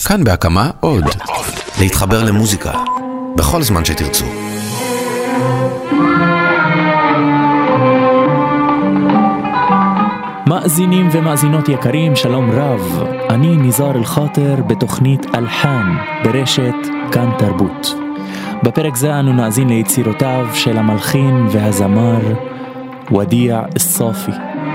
כאן בהקמה עוד. להתחבר למוזיקה בכל זמן שתרצו. מאזינים ומאזינות יקרים, שלום רב. אני ניזאר אל-חאטר בתוכנית אלחן ברשת כאן תרבות. בפרק זה אנו נאזין ליצירותיו של המלחין והזמר ודיע א-סאפי.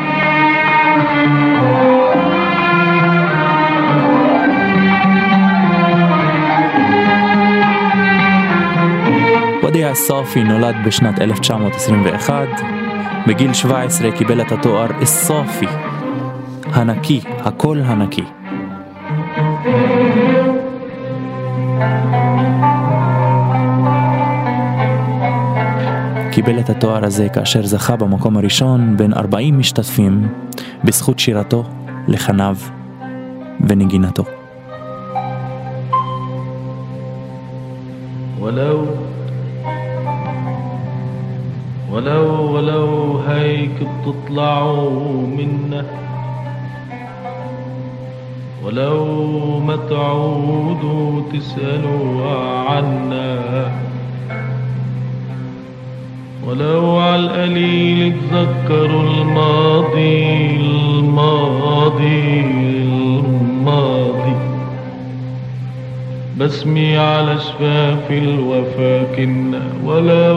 ודיע א-סאפי נולד בשנת 1921. בגיל 17 קיבל את התואר א-סאפי, הנקי, הכל הנקי. קיבל את התואר הזה כאשר זכה במקום הראשון בין 40 משתתפים בזכות שירתו, לחניו ונגינתו. ولو هيك بتطلعوا منا ولو ما تعودوا تسألوا عنا ولو عالقليل تذكروا الماضي بسمي على شفاف الوفا كنا ولو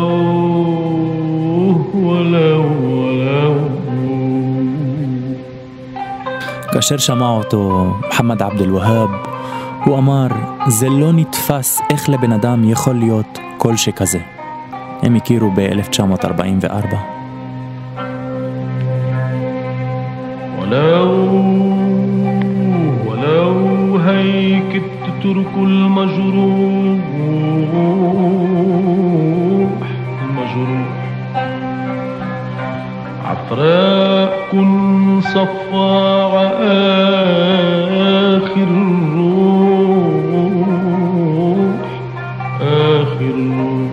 כאשר שמע אותו מחמד עבד אל-והאב, הוא אמר, זה לא נתפס איך לבן אדם יכול להיות כל שכזה. הם הכירו ב-1944. ولو هيك تتركوا المجروح عفراءكن صفاع آخر الروح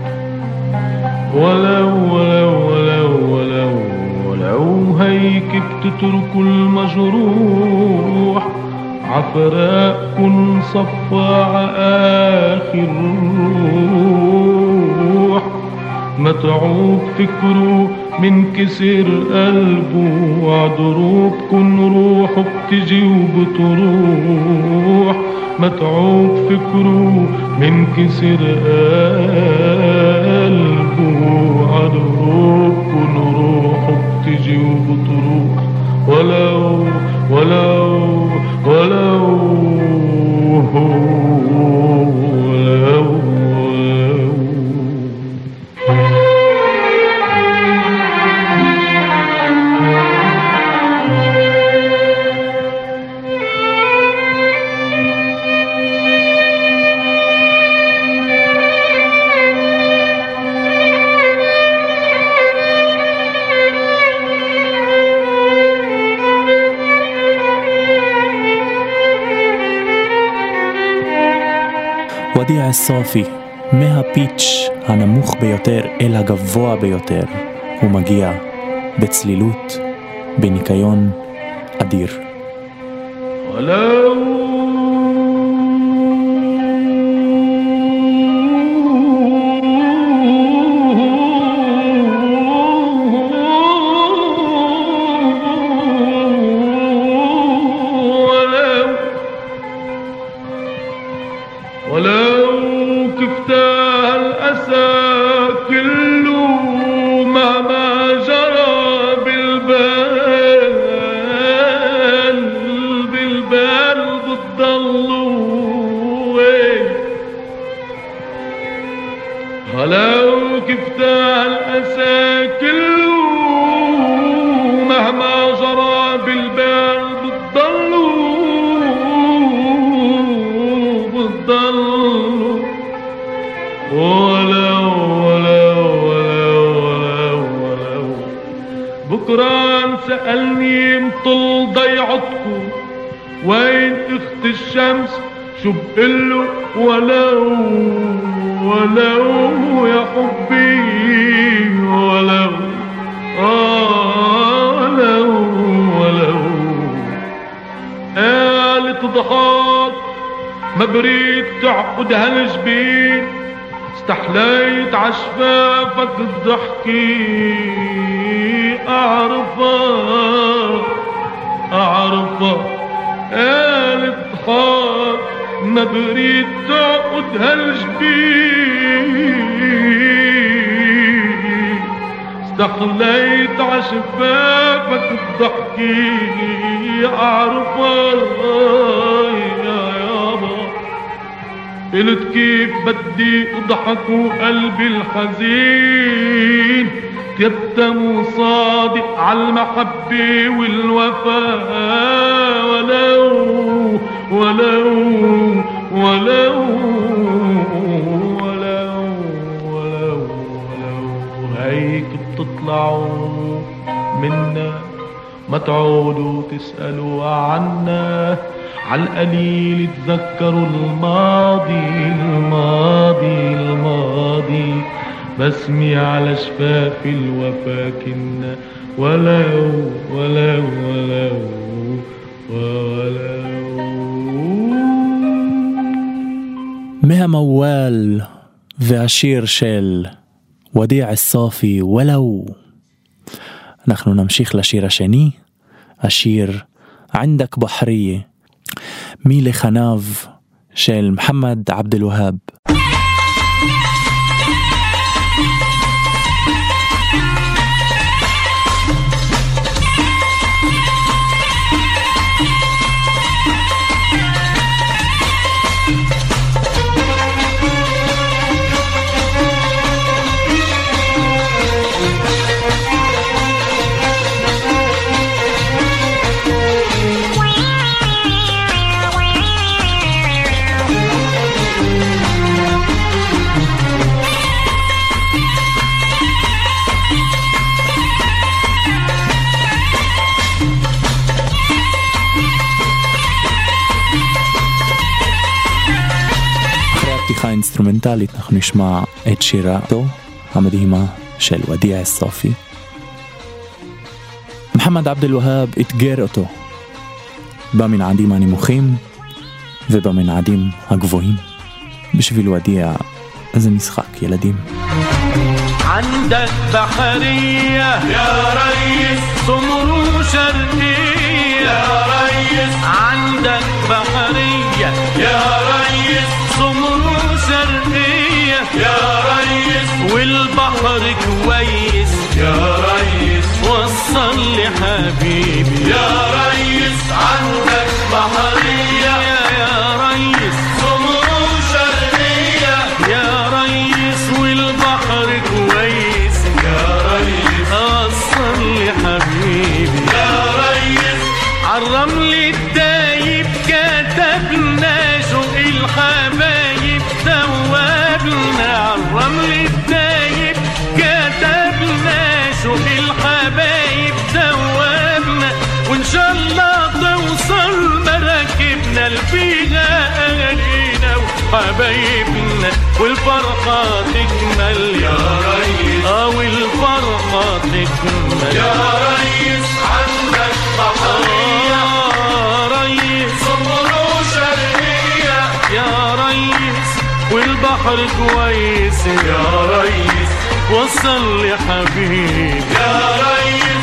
ولو هيك بتتركوا المجروح عفراءكن صفاع آخر الروح متعوب فكره من كسر قلبه وعدروبكن روحه بتجي وبتروح متعوب فكره من كسر قلبه وعدروبكن روحه بتجي وبتروح ولو ודיע א-סאפי, מהפיץ' הנמוך ביותר אל הגבוה ביותר, הוא מגיע בצלילות, בניקיון אדיר. بكران سألني مطل ضيعتكم وين اخت الشمس شو بقله ولو يا حبي ولو قالت ضحك ما بريد تعقد هالجبين استحليت عشفافك الضحكي أعرفها قالت حار ما بريد تعقد هالجبين استحليت عشفافك الضحكي أعرفها يا يابا قلت كيف بدي اضحك وقلبي الحزين يبتم صادق عالمحبة والوفاء ولو هيك بتطلعوا منا ما تعودوا تسألوا عنا عالقليل تذكروا الماضي بسمي على شفاف الوفا كنا ولو مها موال ועשיר של وديع الصافي ولو. אנחנו נמשיך לשיר השני, השיר عندك بحرية מלחניו של محمد عبد الوهاب. אינסטרומנטלית אנחנו נשמע את שירתו המדהימה של ודيع الصافي. محمد عبد الوهاب אתגר אותו במנעדים הנמוכים ובמנעדים הגבוהים. בשביל وديع זה משחק ילדים. عندك بحرية يا ريس سمر شرقية يا ريس عندك بحرية يا ريس سمر شرقية يا ريس والبحر كويس يا ريس وصل لي حبيبي يا ريس عندك بحرية يا ريس سمر شرقية يا ريس والبحر كويس يا ريس وصل لي حبيبي يا ريس عالرمل الدايب كتبنا شوق الحبايب ثوابنا عالرمل الدايب كتبنا شوق الحبايب ثوابنا وان شاء الله توصل مراكبنا لفيها اهالينا وحبايبنا والفرحة تكمل يا ريس والفرحة تكمل يا ريس عندك بحرية ريس صمرو شرقية يا ريس والبحر كويس يا ريس وصل لي حبيبي يا ريس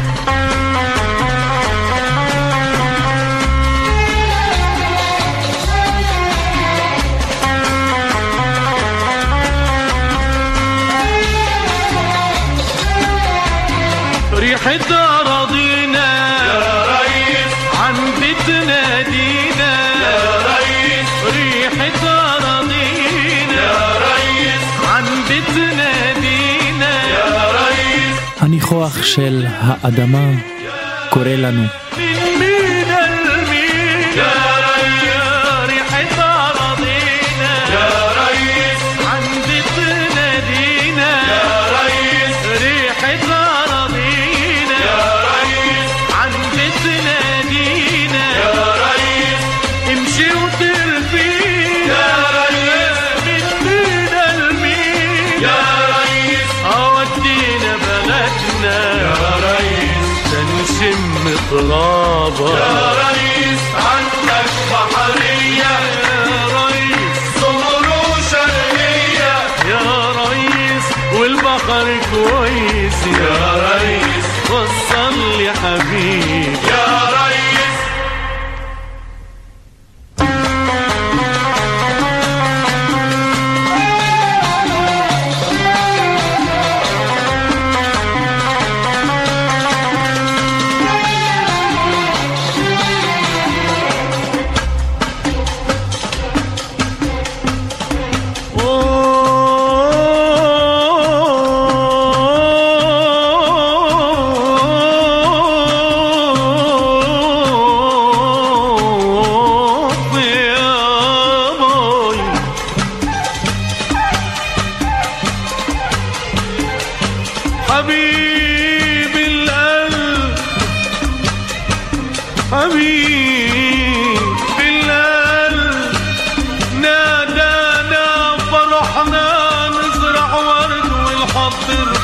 ريحة أراضينا يا ريس عند تنادينا يا ريس ريحة أراضينا يا ريس عند تنادينا يا ريس הניחוח של האדמה קורא לנו من المين يا ريس ريحة أراضينا يا ريس عند تنادينا يا ريس ريحة أراضينا يا ريس عند تنادينا يا ريس امشي وتربينا يا ريس من المين يا ريس أودينا بلدنا يا ريس تنشم تراب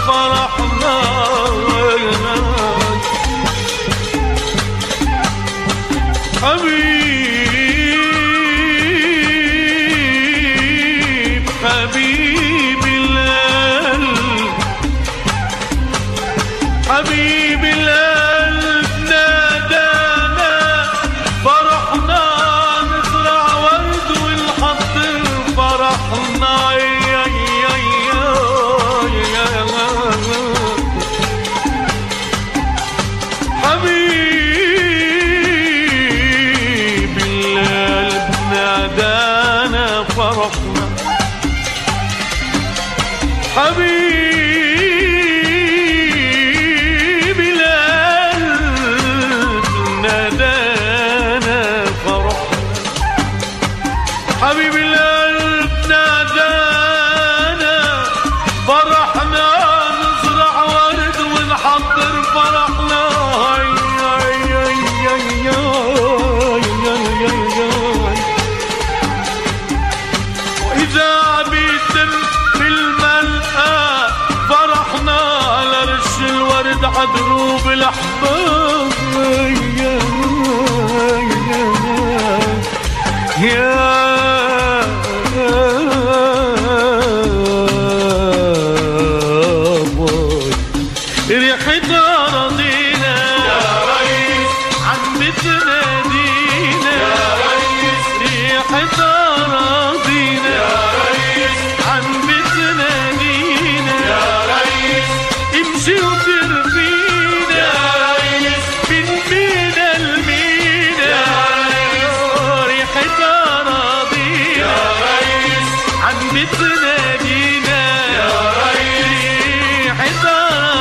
فرحنا حبيب حبيب القلب حبيب القلب نادانا فرحنا نزرع ورد ونحط فرحنا حبيب القلب نادانا فرحنا حبيب القلب نادانا فرحنا حبيب القلب نادانا فرحنا نزرع ورد ونحضر فرحنا وإذا بيتم في الملقى فرحنا على رش الورد عدروب الأحباب ريحتها رضينا يا ريس عم بتنادينا يا ريس ريحتها رضينا يا ريس عم بتنادينا يا ريس امشي وترفينا يا ريس من مينا لمينا يا ريس ريحتها رضينا يا ريس عم بتنادينا يا ريس ريحتها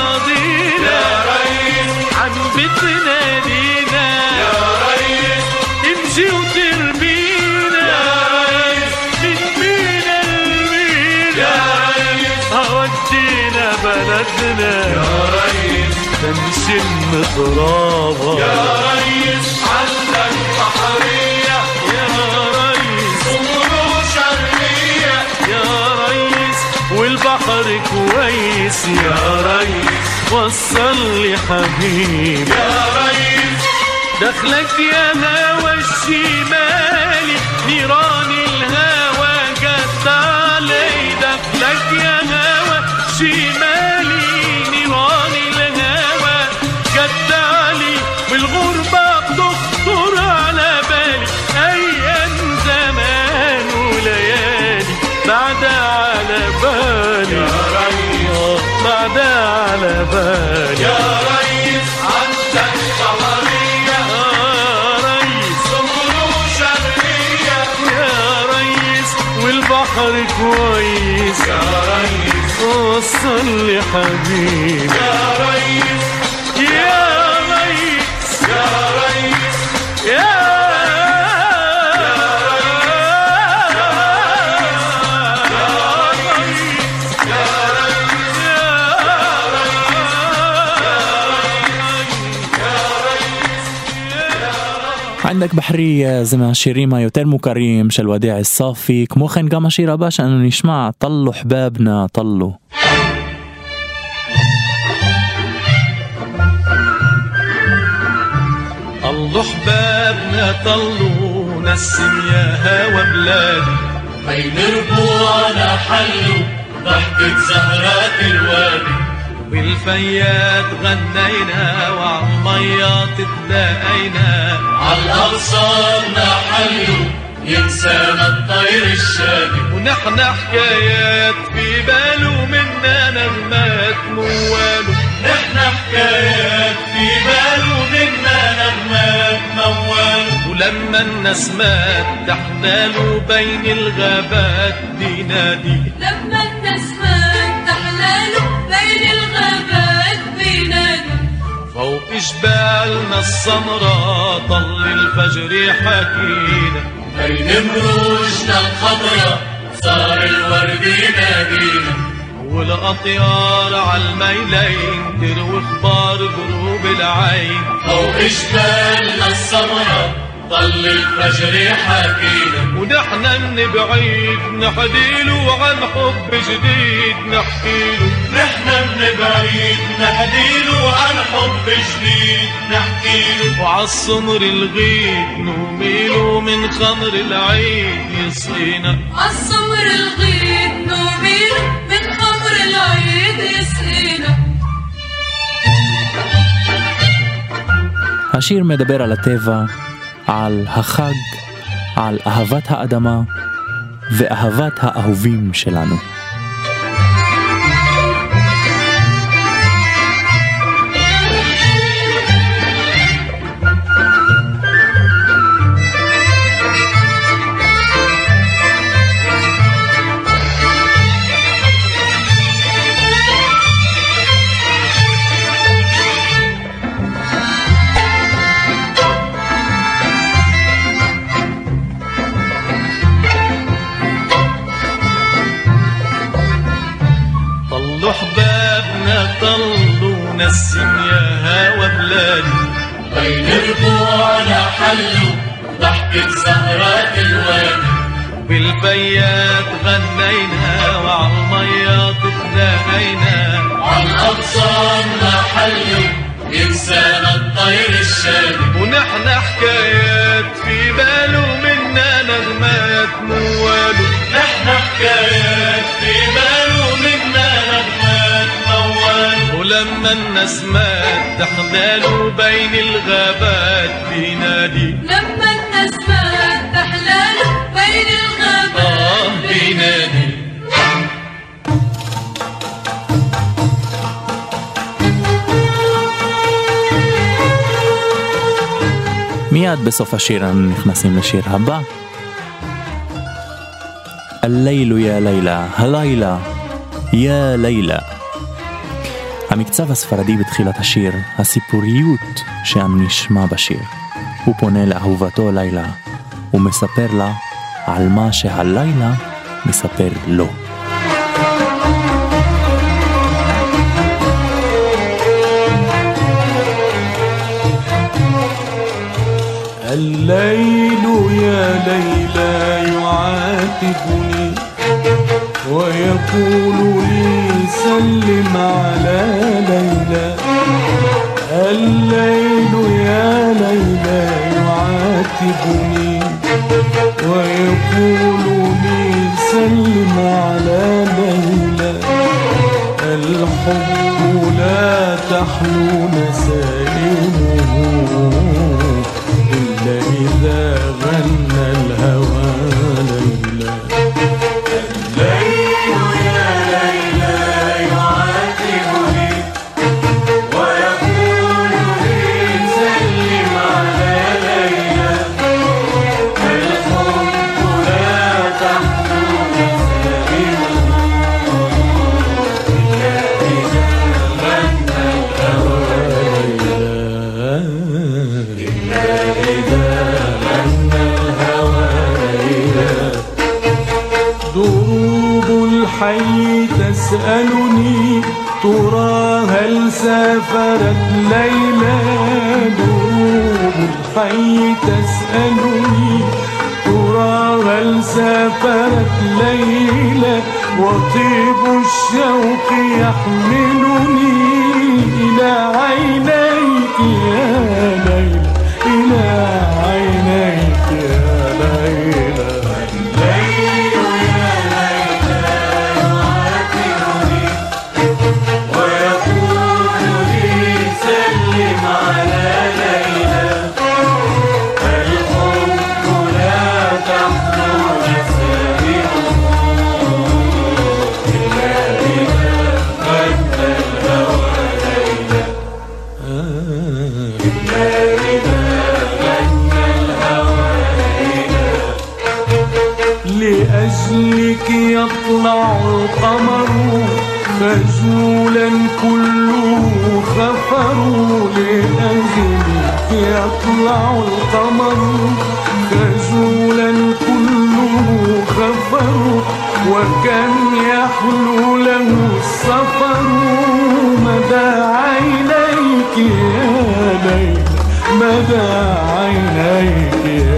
بتنادينا يا ريس امشي وتربينا يا ريس من مينا لمينا يا ريس هودينا بلدنا يا ريس تنشم ترابها يا ريس عندك بحرية يا ريس أمور شرقية يا ريس والبحر كويس يا ريس وصل لي حبيب يا ريس دخلك يا هوى الشمالي نيران الهوى جت علي دخلك يا هوى الشمالي نيران الهوى جت علي والغربة بتخطر على بالي أيام زمان وليالي بعد على بالي يا ريس بعد على بالي يا ريس عندك بحرية يا ريس أمور شرقية يا ريس والبحر كويس يا ريس وصل لي حبيب يا ريس يا ريس يا ريس يا عندك بحرية زي שירים היותר מוכרים של ודيع الصافي, כמו כן גם השיר הבא שאנו נשמע, طلوا حبابنا طلوا. طلوا حبابنا طلوا نسم يا هوا بلادي بين ربوعنا حلوا ضحكة زهرات الوادي بالفيات غنينا وعالميات تلاقينا عالأغصاننا حلوا ينسانا الطير الشادي ونحن حكايات في باله منا نغمات مواله نحن حكايات في باله منا نغمات مواله ولما النسمات تحلاله بين الغابات بينادي لما النسمات تحلاله بين الغابات بينادي فوق جبالنا السمراء طل الفجر حكينا بين مروجنا الخضراء صار الورد ينادينا والأطيار عالميلين تروي اخبار دروب العين فوق جبالنا السمراء ضل الفجر حكينا. ونحن من بعيد نحديله عن حب جديد نحكيله. نحن من بعيد نحديله عن حب جديد نحكيله. وعالصمر الغيد نوميله من خمر العين يسقينا. عالصمر الغيد نوميله من خمر العين يسقينا. השיר מדבר על הטבע, על החג, על אהבת האדמה ואהבת האהובים שלנו. أحبابنا طلوا نسم يا هوا بلادي. بين ربوعنا حلوا ضحكة زهرات الوادي. بالبيات غنينا وعالميات تناهينا. عالأغصان ما حلوا ينسانا الطير الشادي. ونحن حكايات في باله منا نغمات موالو. نحن حكايات في باله منا نغمات موالو. ولما النسمات تحلاله بين الغابات بينادي. لما النسمات تحلاله بين الغابات بينادي. מיד בסוף השיר אנחנו נכנסים לשיר הבא. הלילה יא לילה, הלילה יא לילה. המקצב הספרדי בתחילת השיר, הסיפוריות שאנו נשמע בשיר. הוא פונה לאהובתו לילה, הוא מספר לה על מה שהלילה מספר לו. الليل يا ليلى يعاتبني ويقول لي سلم على ليلى. الليل يا ليلى يعاتبني ويقول لي سلم على ليلى. الحب لا تحلو نسائمه إلا إذا غنى الهوى ليلى. الليل يا ليلى يعاتبني ويقول لي سلم على ليلى. الحب لا تحلو نسائمه إلا إذا غنى الهوى ليلى. دروب الحي تسألني ترى هل سافرت ليلى. دروب الحي تسألني ترى هل سافرت ليلى. وطيب الشوق يحملني إلى عينيك يا ليلى، إلى عينيك يا ليلى. لأجلك يطلع القمر خجولا كله خفر. لأجلك يطلع القمر خجولا كله خفر. وكم يحلو له السفر مدى عينيك يا ليل، مدى عينيك يا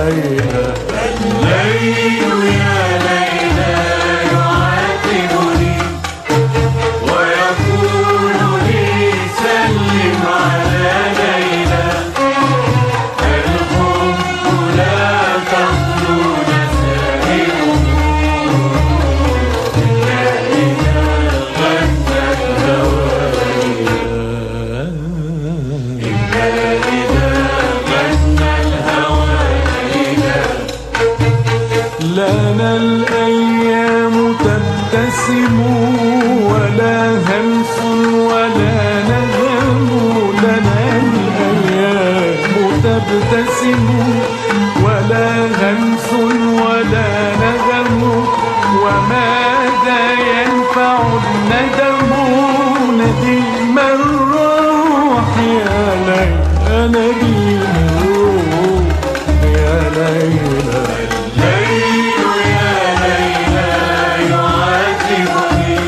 ليلى الليل يا ليلى يعاتبني ويقول لي سلم على ليلى الحب لا تخلو نسائله إلا إذا غنى الهوى إلا إذا غنى الهوى لنا الأيام تبتسم ولا همس ولا نغم لنا الأيام تبتسم ولا همس ولا نغم وماذا ينفع الندم نديم الروح يا ليلى نديم الروح يا ليلى الليل يا ليلى يعاتبني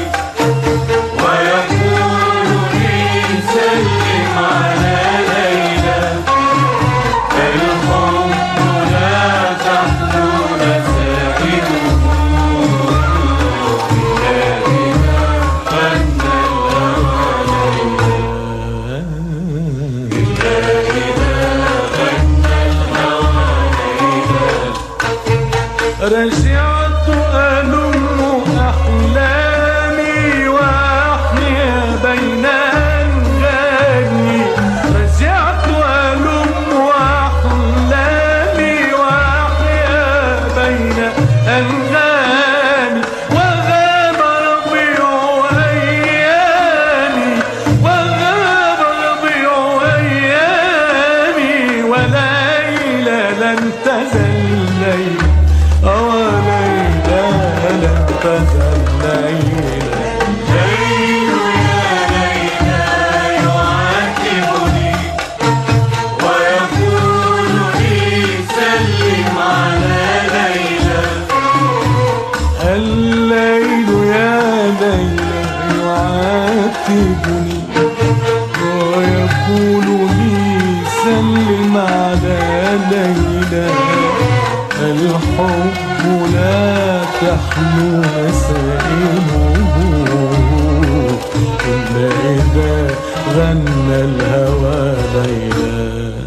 ويقول لي سلم على ليلى الحب لا تخلو نسائله إلا إذا غنى الهوى ليلى إلا إذا غنى الهوى ليلى رجعت ألم أحلامي وأحيا بين أنغامي رجعت ألم أحلامي وأحيا بين أنغامي وغاب ربيع أيامي وغاب ربيع أيامي وليلى لن تزل ليلى ليلى لن تزل ليلى الليل يا ليلى يعاتبني ويقول لي سلم على ليلى الليل يا ليلى يعاتبني ويقول لي سلم على ليلى الحب لا تحلو مسائله إلا إذا غنى الهوى ليلى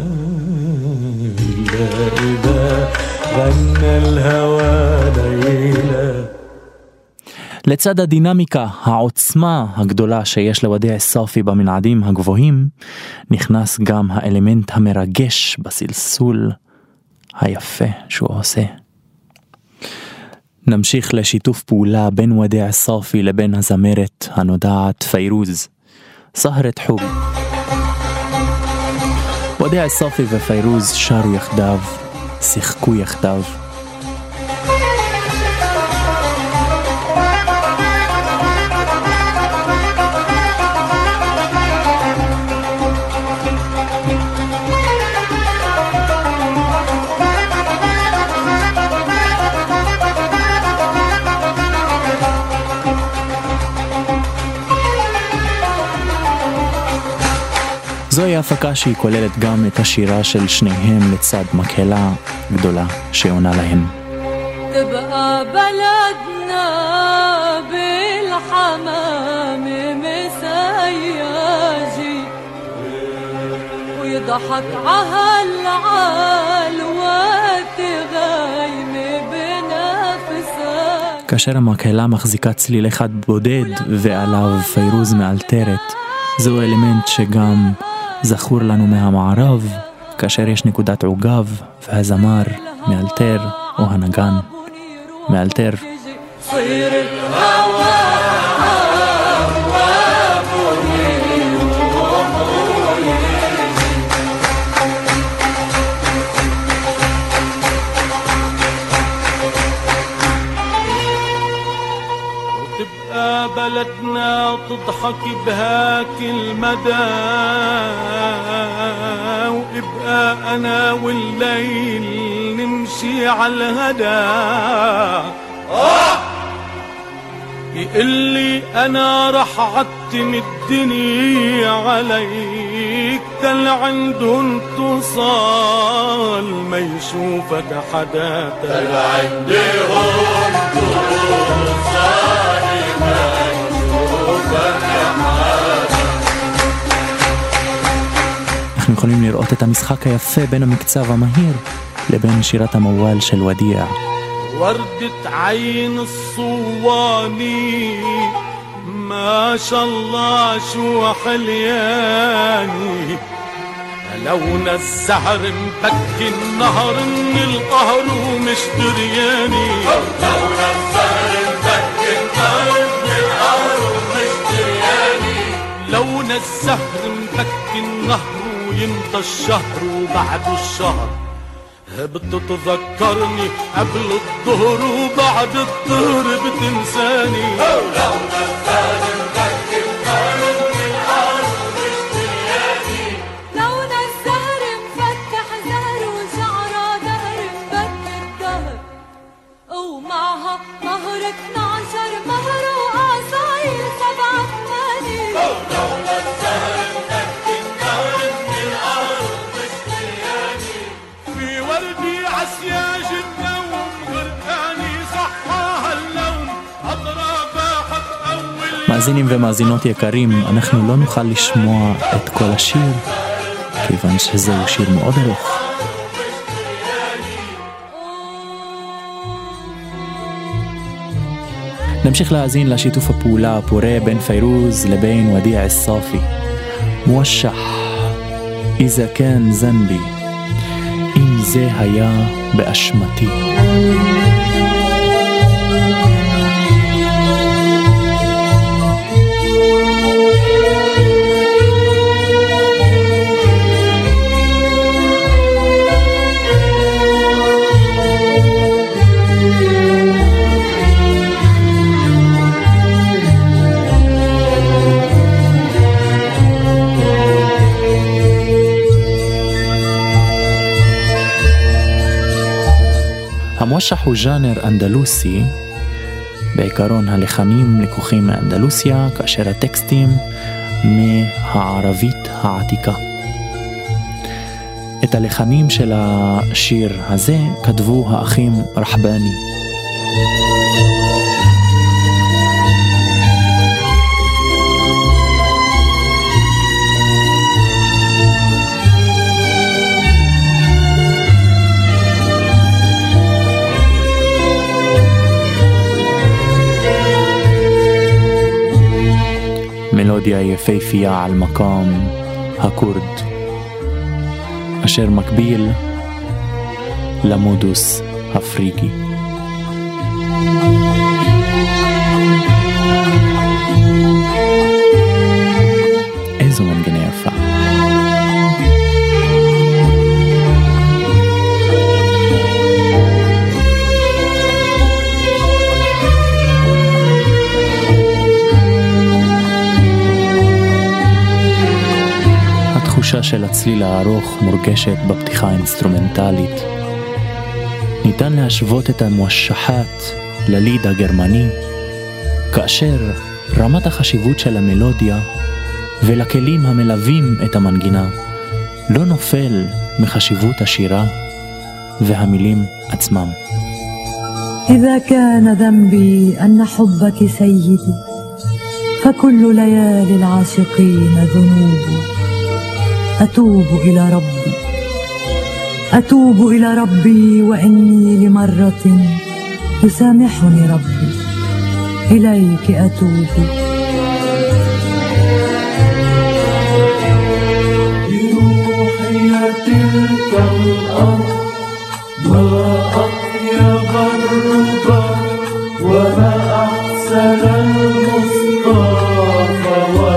إلا إذا غنى الهوى ليلى. לצד הדינמיקה, העוצמה הגדולה שיש לוודע סופי במנעדים הגבוהים, נכנס גם האלמנט המרגש בסלסול היפה שהוא עושה. נמשיך לשיתוף פעולה בין ודע סופי לבין הזמרת הנודעת פיירוז, סהרת חוג. ודע סופי ופיירוז שרו יחדיו, שיחקו יחדיו. זוהי הפקה שהיא כוללת גם את השירה של שניהם לצד מקהלה גדולה שעונה להם. تبقى بلدنا بالحمام مسياجي ويضحك عهالعال وتغايم بنفسك. כאשר המקהלה מחזיקה צליל אחד בודד ועליו פיירוז מאלתרת, זהו אלמנט שגם זכור לנו מהמערב, כאשר יש נקודת עוגב והזמר מאלתר או הנגן מאלתר. بلدنا تضحك بهاك المدى وابقى انا والليل نمشي على الهدى تقلي انا رح عتم الدنيا عليك، تل عندهم توصل ما يشوفك حدا، تل عندهم توصل ما يشوفك حدا. אנחנו יכולים לראות את המשחק היפה בין המקצב המהיר לבין שירת המוואל של ודيع. وردة عين الصواني ما شاء الله شو حلياني، لون الزهر مبكي النهر من القهر ومش درياني، لون الزهر مبكي النهر من القهر ومش درياني، لون الزهر مبكي النهر ويمضى الشهر وبعد الشهر بتتذكرني قبل الظهر وبعد الظهر بتنساني، لون الزهر مبكي النهر من القهر ومش درياني، لون الزهر مفتح زهر وشعره دهر مبكي الدهر، ومعها مهر 12 مهر وقصايل 7 ثماني، لون الزهر مبكي النهر من القهر ومش درياني، في وردي عسياج النوم غرقاني صحاها اللون أضرابها حق أول. מאזינים ומאזינות יקרים, אנחנו לא נוכל לשמוע את כל השיר כיוון שזהו שיר מאוד ארוך. נמשיך להאזין לשיתוף הפעולה הפורה בין פיירוז לבין ודيع الصافي. موشح إذا كان ذنبي, אם זה היה באשמתי. המושח הוא ז'אנר אנדלוסי, בעיקרון הלחנים לקוחים מאנדלוסיה, כאשר הטקסטים מהערבית העתיקה. את הלחנים של השיר הזה כתבו האחים רחבני. מלודיה יפהפייה על מקום הקורד, אשר מקביל למודוס הפריגי. איזו מנגנה יפה. התחושה של הצליל הארוך מורגשת בפתיחה האינסטרומנטלית. ניתן להשוות את המושחת לליד הגרמני, כאשר רמת החשיבות של המלודיה ולכלים המלווים את המנגינה לא נופל מחשיבות השירה והמילים עצמם. إذا كان ذنبي أن حبك سيدي فكل ليالي العاشقين ذنوب. أتوب إلى ربي وإني لمرة يسامحني ربي إليك أتوب. بروحي تلك الأرض ما أطيب الرضا وما أحسن المصطفى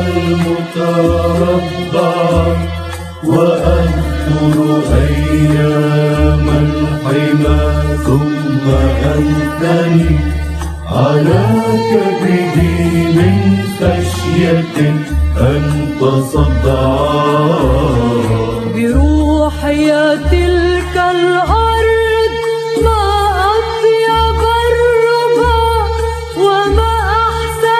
والمتربع وأذكر أيام الحمى ثم أنثني على كبدي من خشية أن تصدع. بروحي تلك الأرض ما أطيب الربا وما أحسن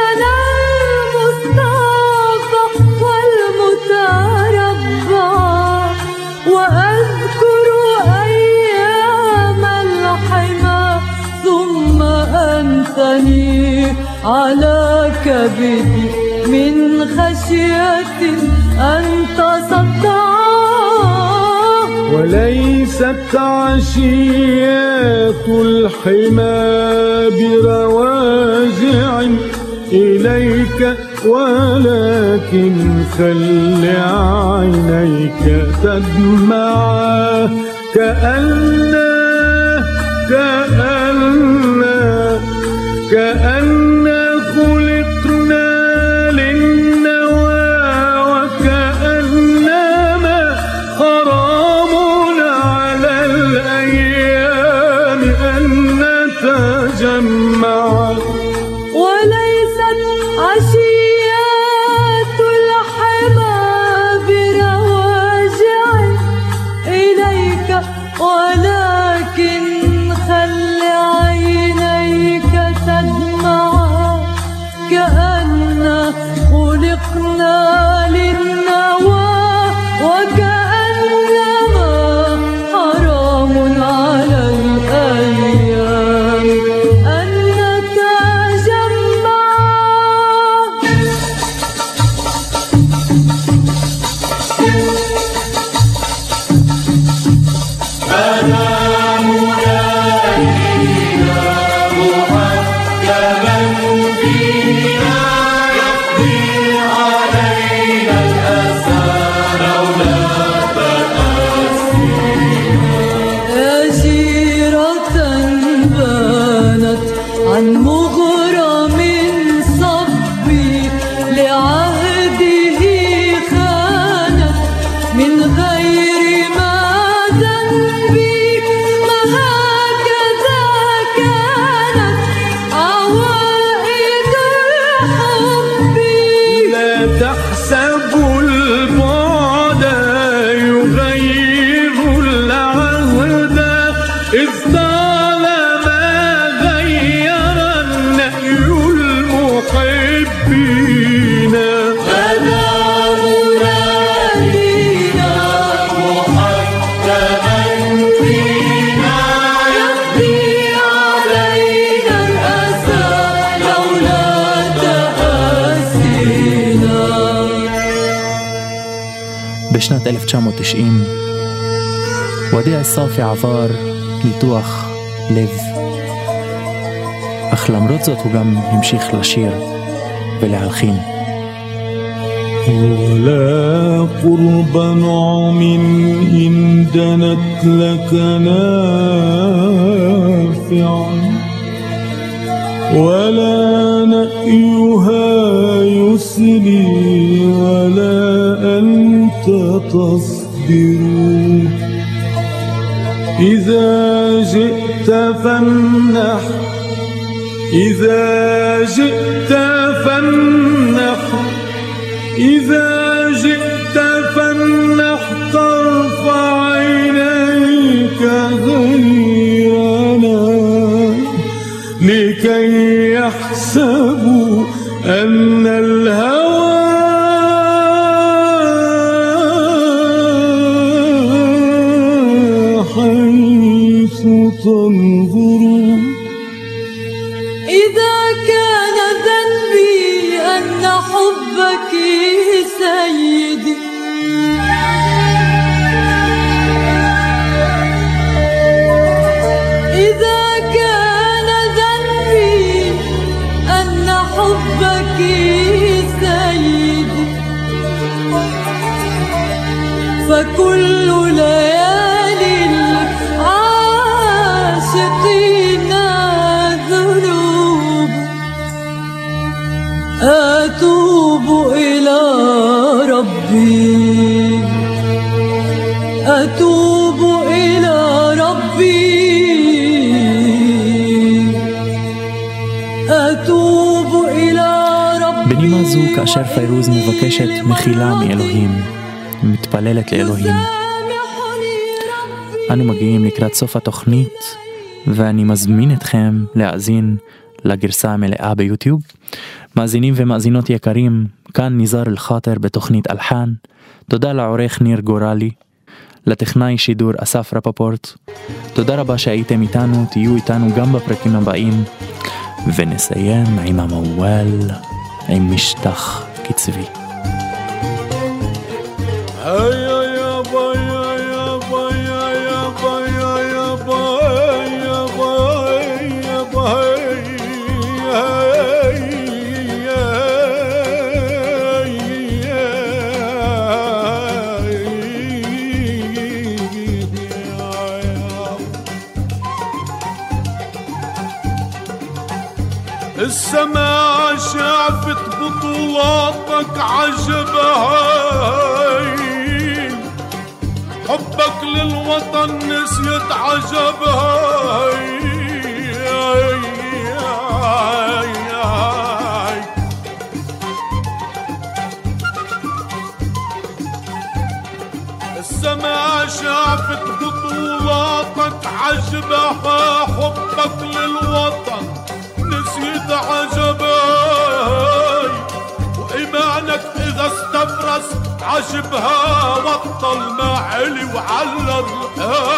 تنثني على كبدي من خشية أن تصدعه. وليست عشيات الحمى برواجع إليك ولكن خل عينيك تدمع كأن خلقنا للنوى وكأنما حرام على الأيام أن نتجمع. وليست عشيات الحمى برواجع إليك ولكن خل عينيك تدمع كأن خلقنا للنوى وكأنما حرام على الأيام أن نتجمع. أجيرة بانت عن مغرم صبي لعهده خانت من غير ما ذنبي. ما هكذا كانت عوائد الحب. لا تحسبوا البعد يغير العهد إذ طالما غير النهي المحبين. أنا مرادينا محكما فينا يقضي علينا الأسى لولا تأسينا. בשנת 1990 وديع الصافي עבר ניתוח לב, אך למרות זאת הוא גם המשיך לשיר ולהלחין. ولا قرب نعم إن دنت لك نافعا ولا نأيها يسلي ولا أنت تصبر. إذا جئت فامنح إذا جئت فامنح ترفع عينيك غيرنا لكي يحسبوا أن الهوى حيث تنظر. إذا كان ذنبي أن حبك سيدي إذا كان ذنبي أن حبك سيدي فكل ليالي العاشقين ذنوب. أتوب إلى ربي أتوب إلى ربي أتوب إلى ربي. בנימה זו, כאשר פיירוז מבקשת מחילה מאלוהים, מתפללת לאלוהים, אנו מגיעים לקראת סוף התוכנית, ואני מזמין אתכם להאזין לגרסה המלאה ביוטיוב. מאזינים ומאזינות יקרים, כאן ניזאר אל-חאטר בתוכנית אלחן. תודה לעורך ניר גורלי, לטכנאי שידור אסף רפפורט. תודה רבה שהייתם איתנו, תהיו איתנו גם בפרקים הבאים. ונסיים עם המוואל, עם משטח קצבי. السماء شافت بطولاتك عجبها، حبك للوطن نسيت عجبها. السماء شافت بطولاتك عجبها، حبك للوطن نسيت عجباي، وإيمانك إذا استفرس عجبها، بطل ما علي وعلى الرقاي.